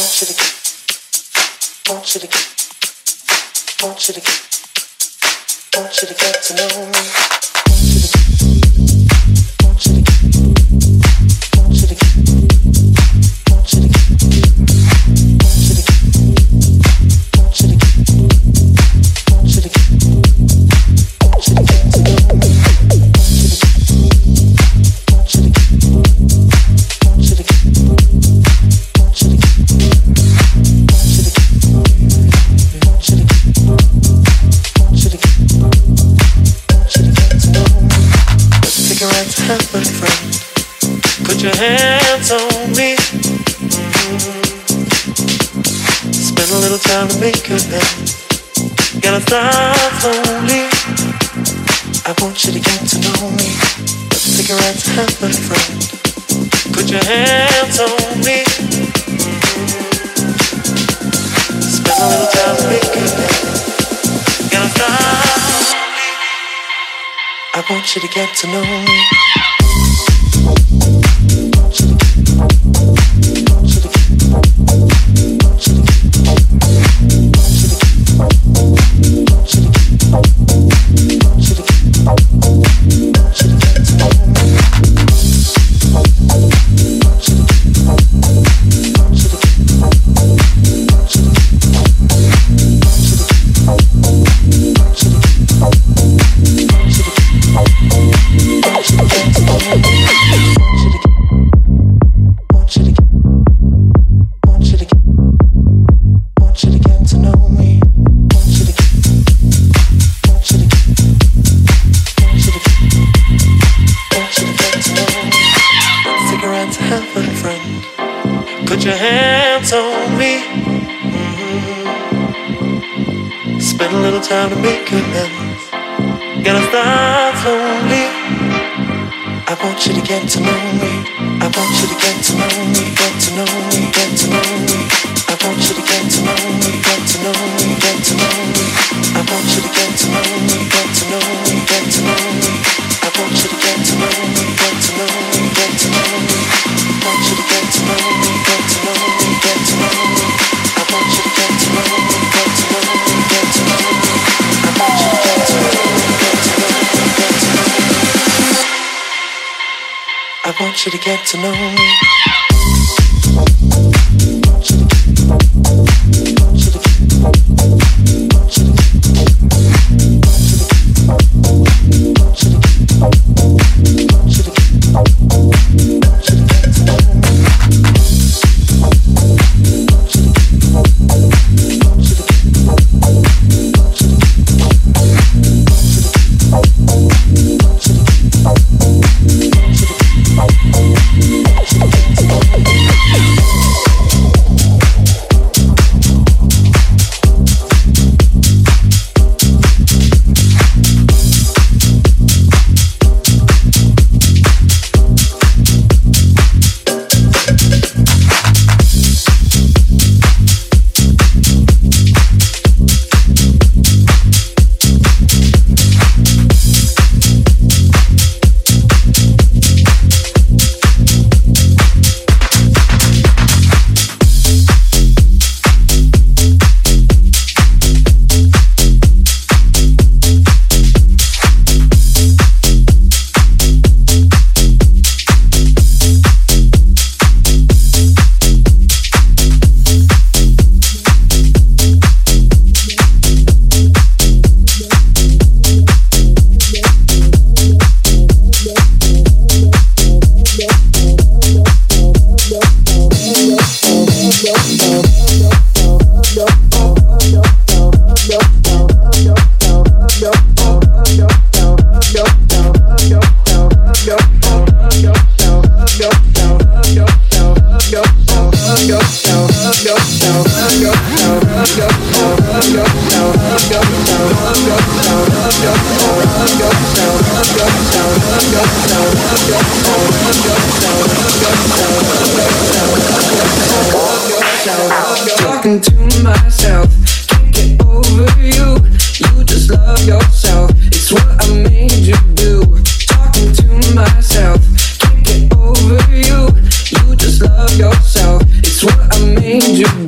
Talking to myself, can't get over you. You just love yourself, it's what I made you do. Talking to myself, can't get over you. You just love yourself, it's what I made you do.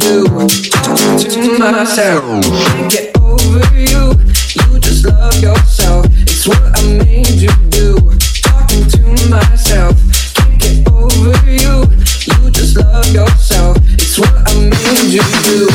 do. Talking to myself, can't get over you. You just love yourself. It's what I made you do. Talking to myself, can't get over you. You just love yourself. It's what I made you do.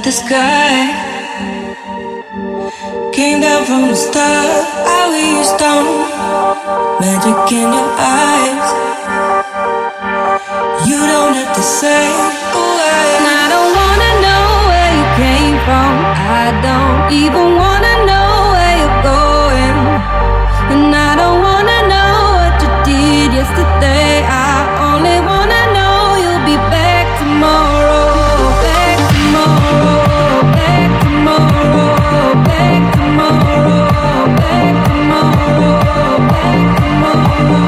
at the sky. Came down from the stars, how we used on. Magic in your eyes. You don't have to say why. And I don't wanna know where you came from. I don't even wanna know where you're going. And I don't wanna know what you did yesterday. I only wanna know you'll be back tomorrow. Back tomorrow. Back tomorrow. Back tomorrow. Back tomorrow. Back tomorrow.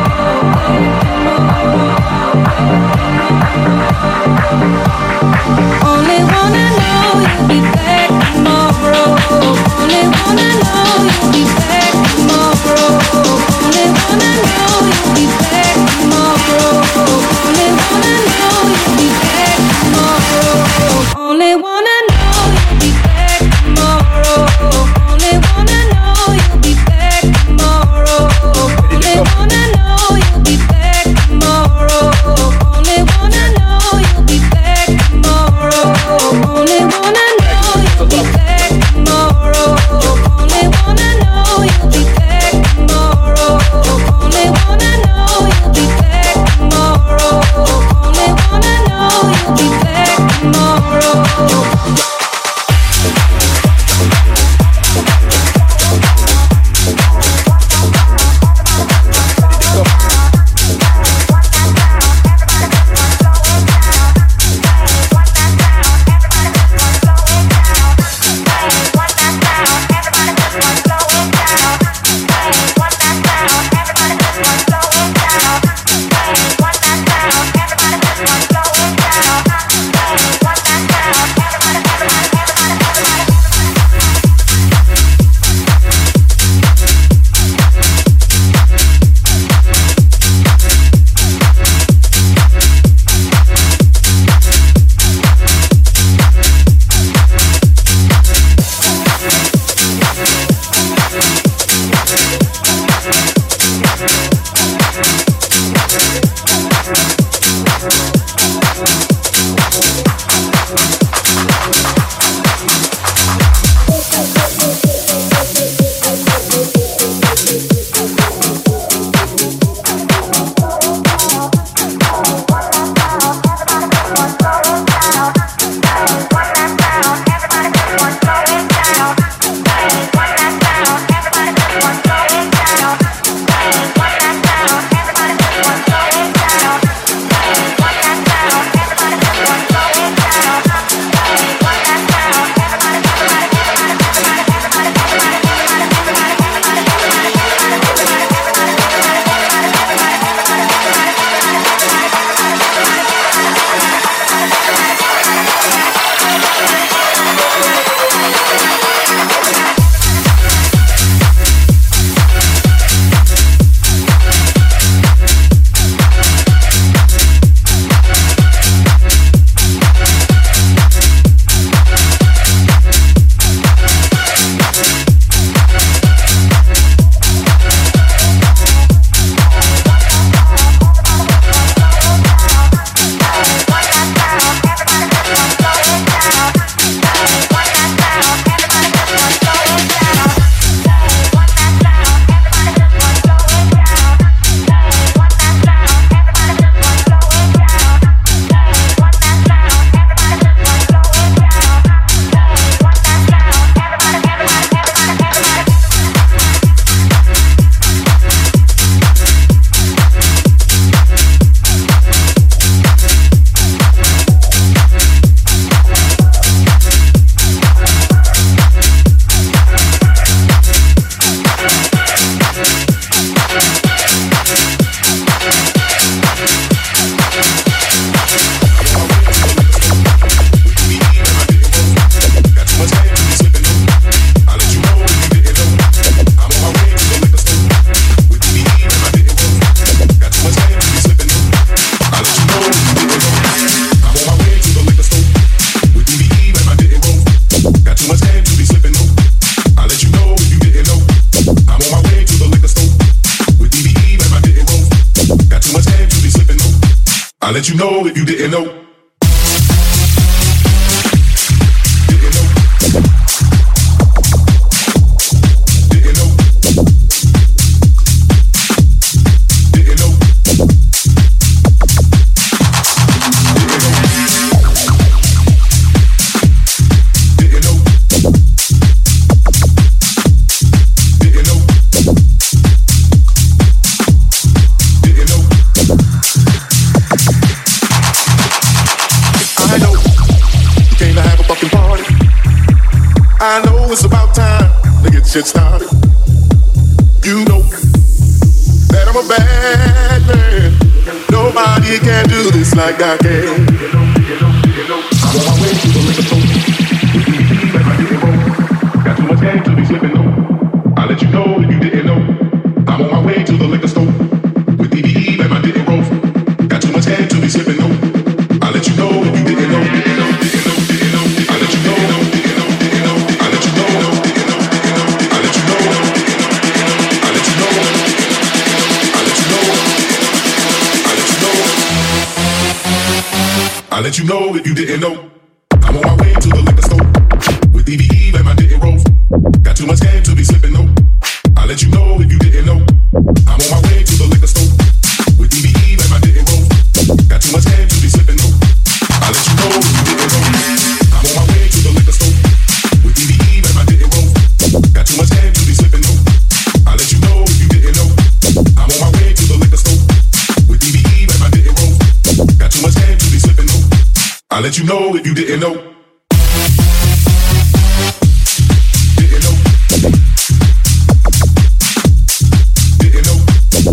Only wanna know you'll be back tomorrow. Only wanna know you'll be back tomorrow. Only wanna know you'll be back tomorrow. Only wanna know you'll be back tomorrow. Only wanna know you'll be back tomorrow. Only wanna know you'll be back tomorrow. Only wanna know you'll be back tomorrow. Only wanna know you'll be back tomorrow. Only wanna know you'll be back tomorrow. Only wanna know you'll be back tomorrow. Only wanna know you'll be back tomorrow. Only wanna know you'll be back tomorrow. I'll let you know if you didn't know. it's about time to get shit started. You know that I'm a bad man. Nobody can do this like I can. I'm on my way to the liquor store. Like I didn't roll. Got too much game to be slipping though. I'll let you know if you didn't know. I'm on my way to the liquor store. With DBE and my didn't roll. Got too much game to be slipping though. I'll let you know if you didn't know. I'll let you know. I'll let you know. I'll let you know. I'll let you know. I'll let you know. I'll let you know if you didn't know. I'm on my way to the liquor store with DBE and my didn't roll. Got too much game to be slipping though. I'll let you know if you didn't know. I'm on my way to the liquor store with DBE and my didn't roll. Got too much game to be slipping though. I'll let you know if you didn't know. I'm on my way to the liquor store with DBE and my didn't roll. Got too much game to be slipping though. I'll let you know if you didn't know. I'm on my way to the liquor store with DBE and my didn't roll. Got too much game to be slipping though. I'll let you know if you didn't know. Didn't know. Didn't know.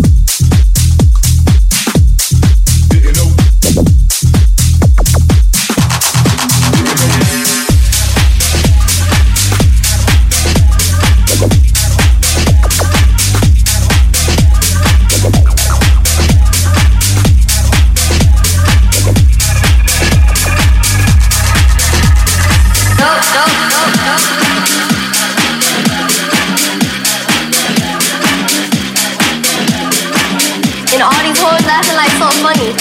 Didn't know. And all these hoes laughing like so funny.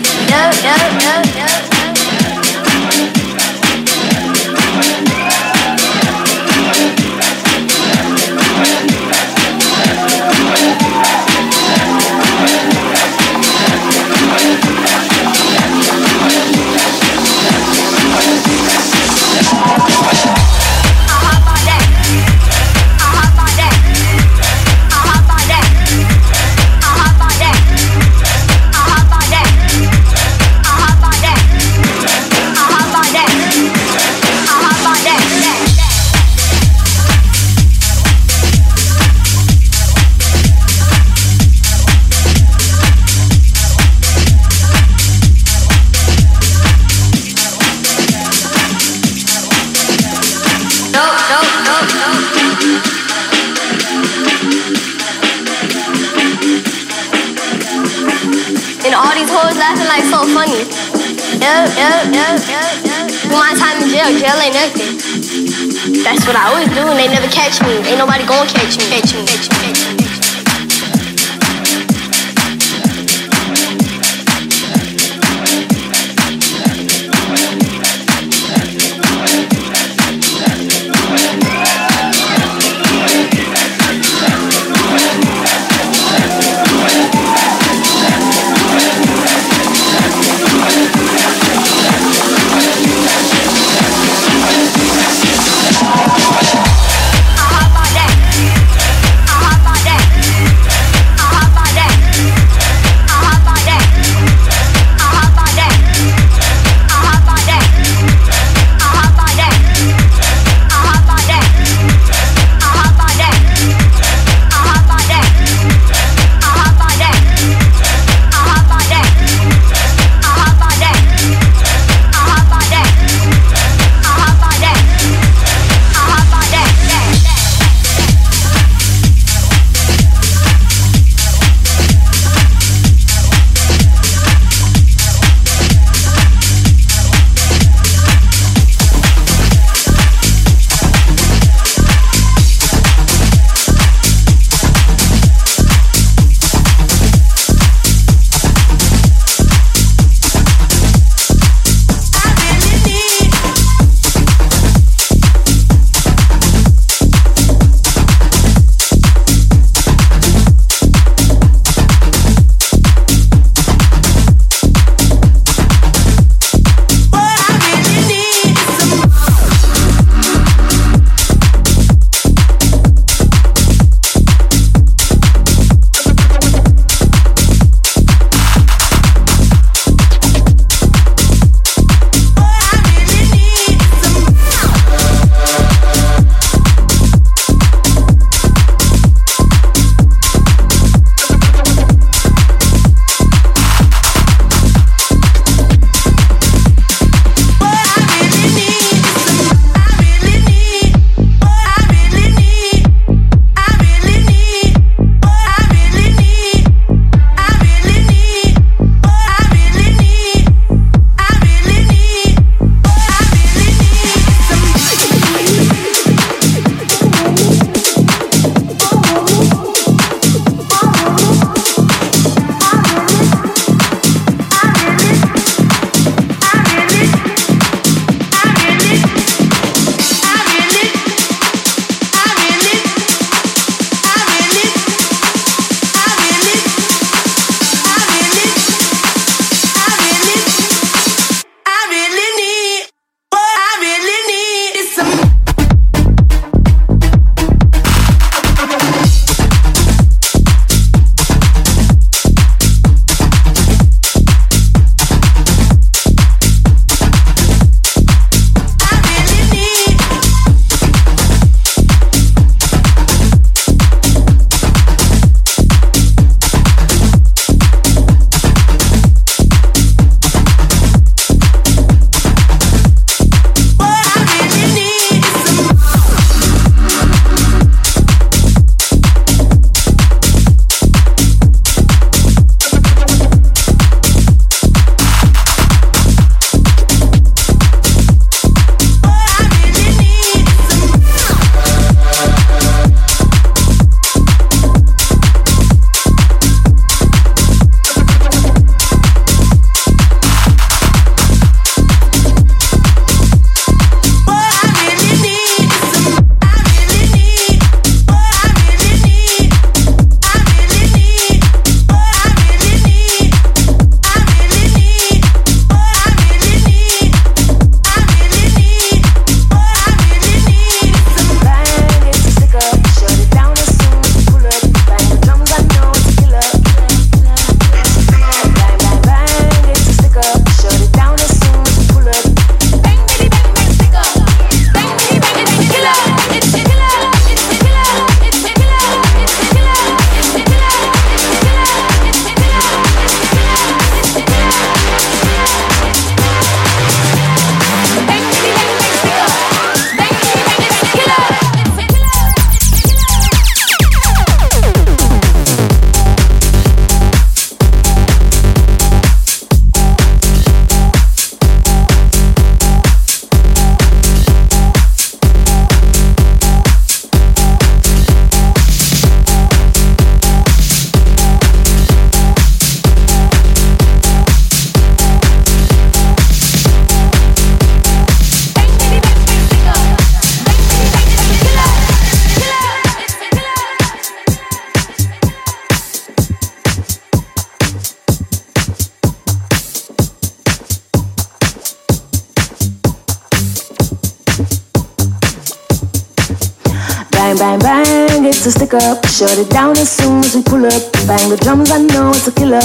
And all these hoes laughing like so funny. My time in jail ain't nothing. That's what I always do and they never catch me. Ain't nobody gonna catch me. How about that? bang, bang, it's a stick up. Shut it down as soon as we pull up. Bang the drums, I know it's a killer.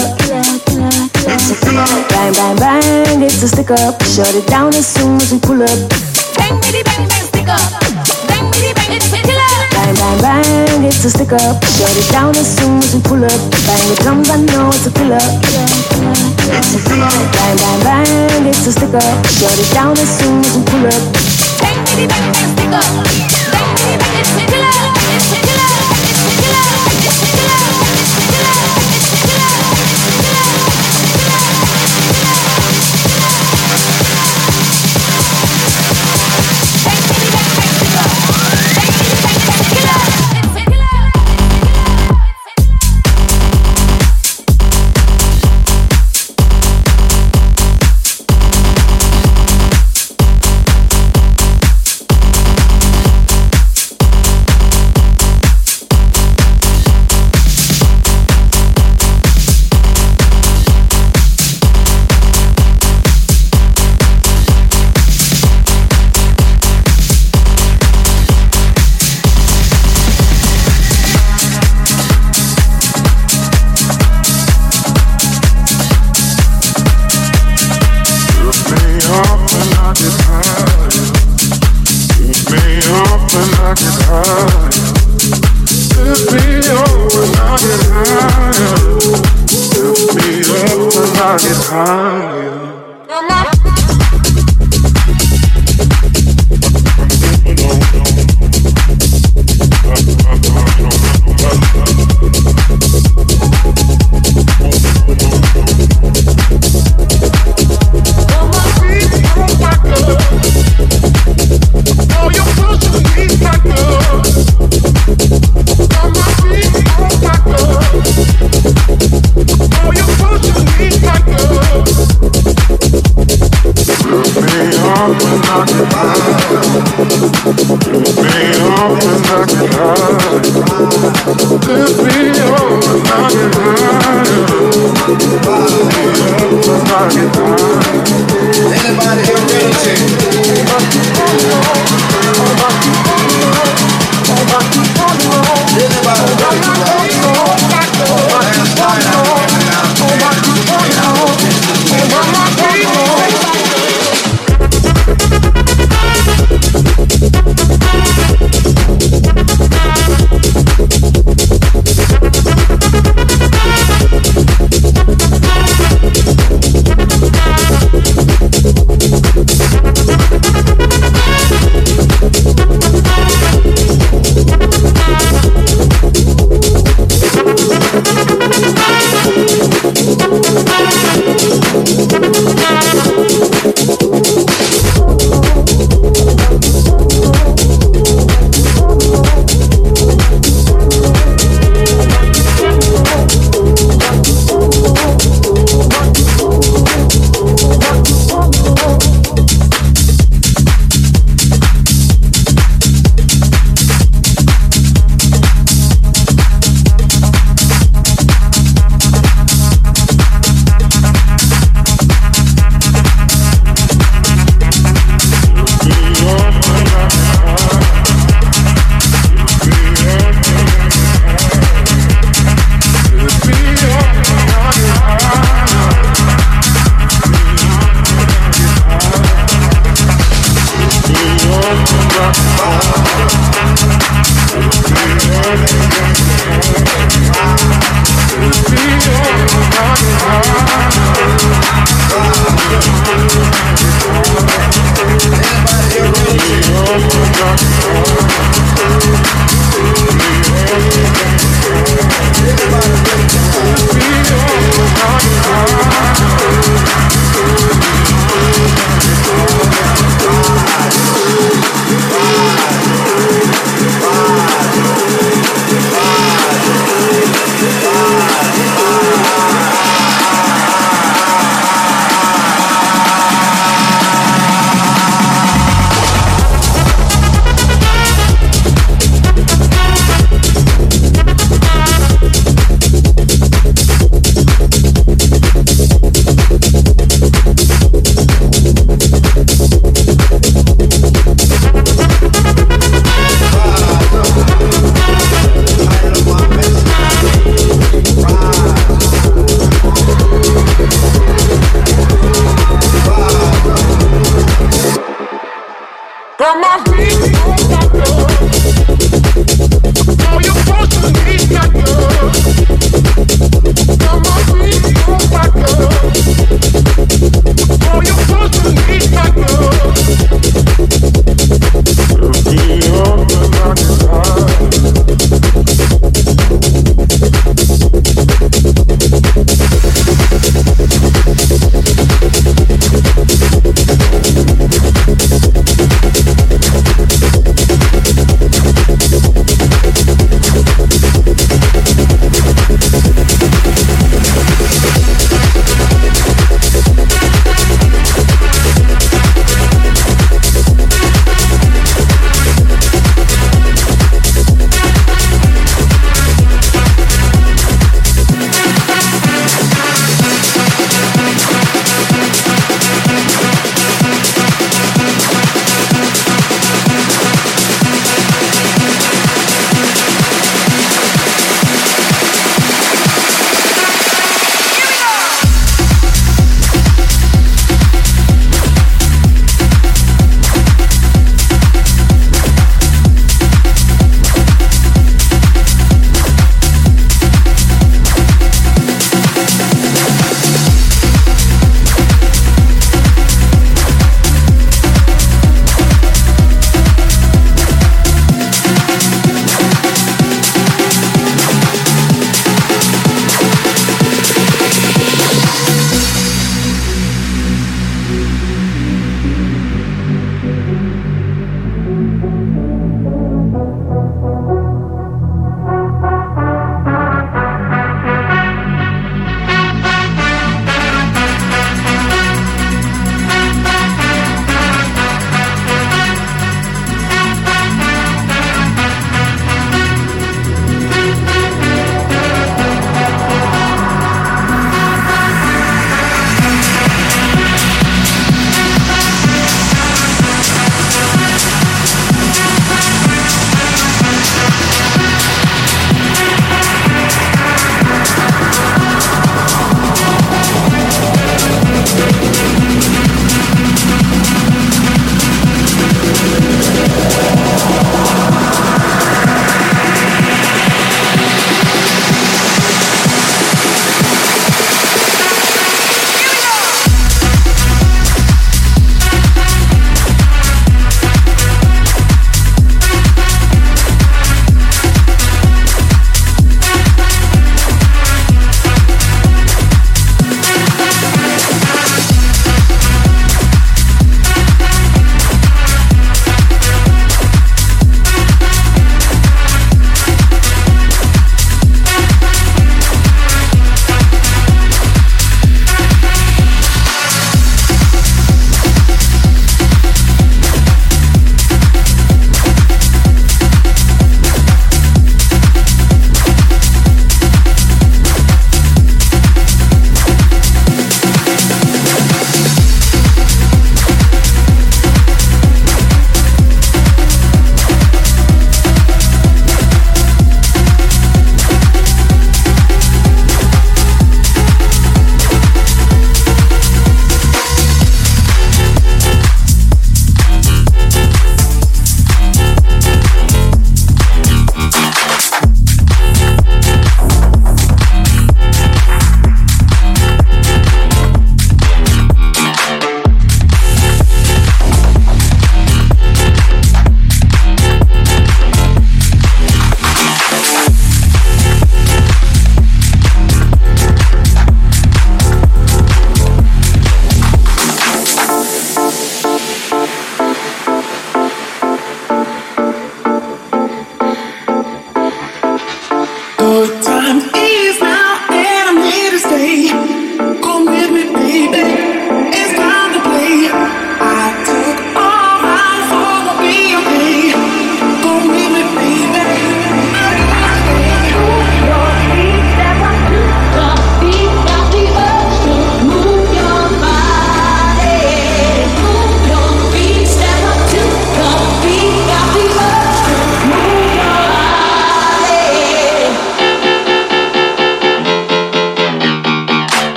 Bang, bang, bang, it's a stick up. Shut it down as soon as we pull up. Bang, bitty, bang, bang, stick up. Bang, bitty, bang, it's a killer. Bang, bang, bang, it's a stick up. Shut it down as soon as we pull up. Bang the drums, I know it's a killer. Bang, bang, bang, it's a stick up. Shut it down as soon as we pull up. Bang, bitty, bang, bang, stick up. Bang, bitty, bang, it's a killer. It's a killer. It's a killer. It's a killer. It's a killer. It's a killer.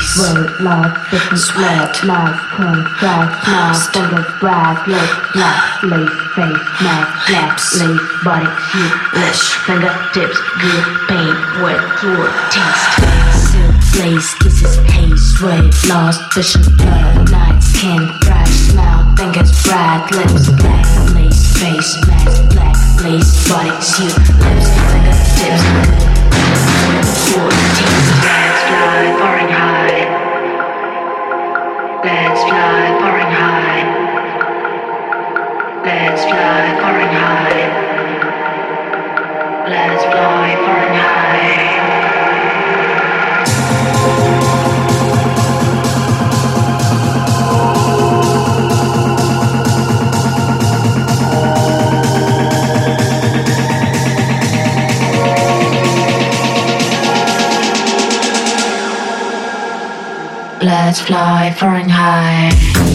Word, love, business, love, life, pen, drive, smile, fingers, brag, lips, black, lace, face, mask, black, lace, body, shoot, lips, fingertips, good, pain, wet, fluid, taste, silk, lace, kisses, haze, sweat, lost, vision, blood, night, skin, bright, smile, fingers, brag, lips, black, lace, face, mask, black, lace, body, shoot, lips, fingertips, good, fluid, taste, let's fly, far and high. Let's fly far and high. Let's fly far and high. Let's fly far and high. Let's fly far and high.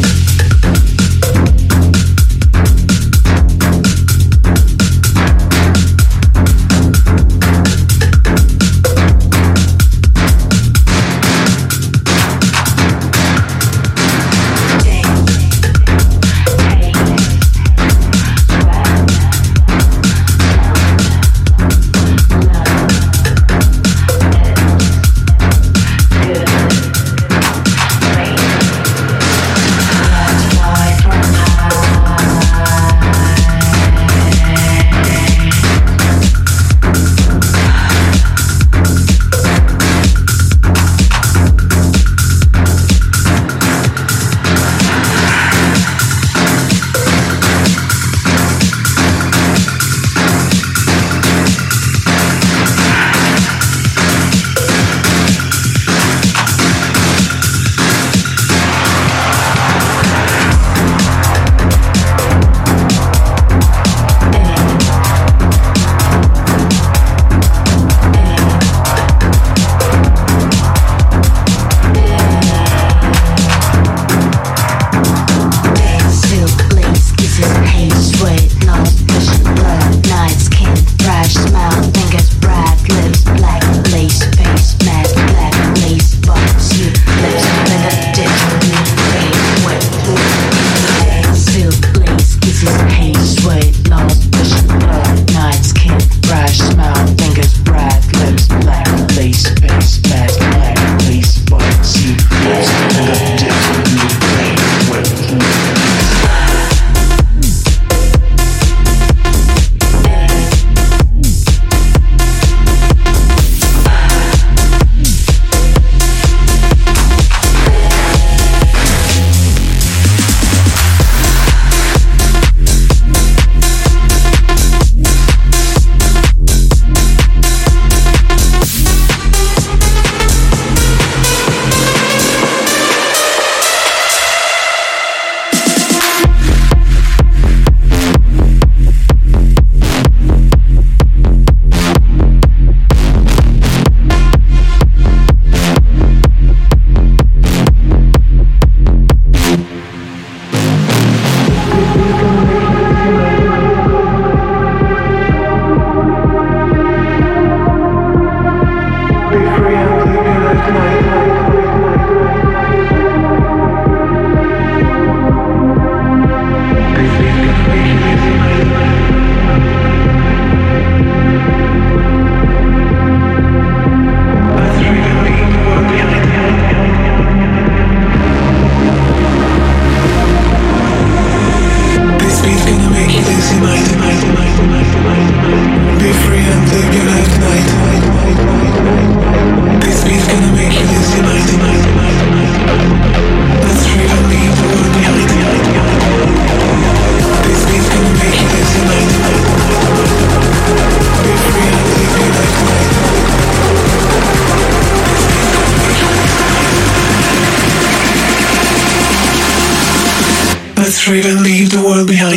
Let's trade and leave the world behind.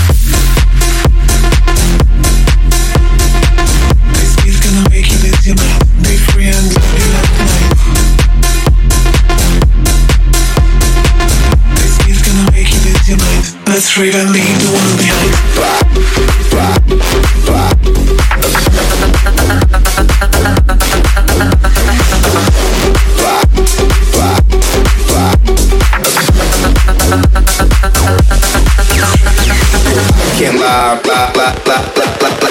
This beat's gonna make you lose your mind. Let's rave and leave the world behind. Can't lie, blah, blah, blah, blah, blah, blah,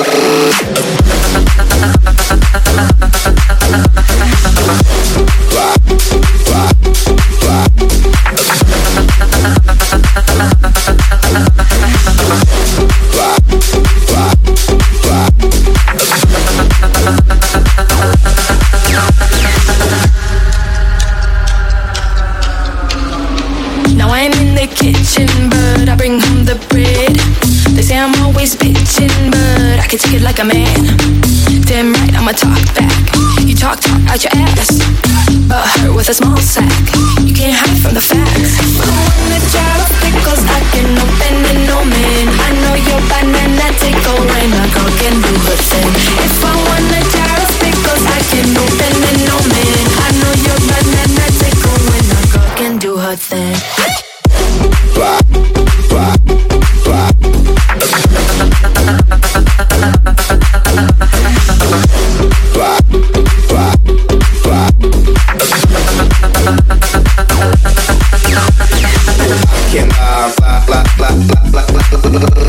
Now I'm in the kitchen, but I bring home the bread. They say I'm always bitching, but I can take it like a man. Damn right, I'ma talk back. You talk out your ass, but hurt with a small sack. You can't hide from the facts. I wanna jar of pickles, I can open it, no man. I know your banana tickle when a girl can do her thing. If I want a jar of pickles, I can open it, no man. I know your banana tickle when a girl can do her thing. blah, blah, blah. Blah, blah, blah. Can't lie, blah, blah, blah, blah, blah, blah, blah.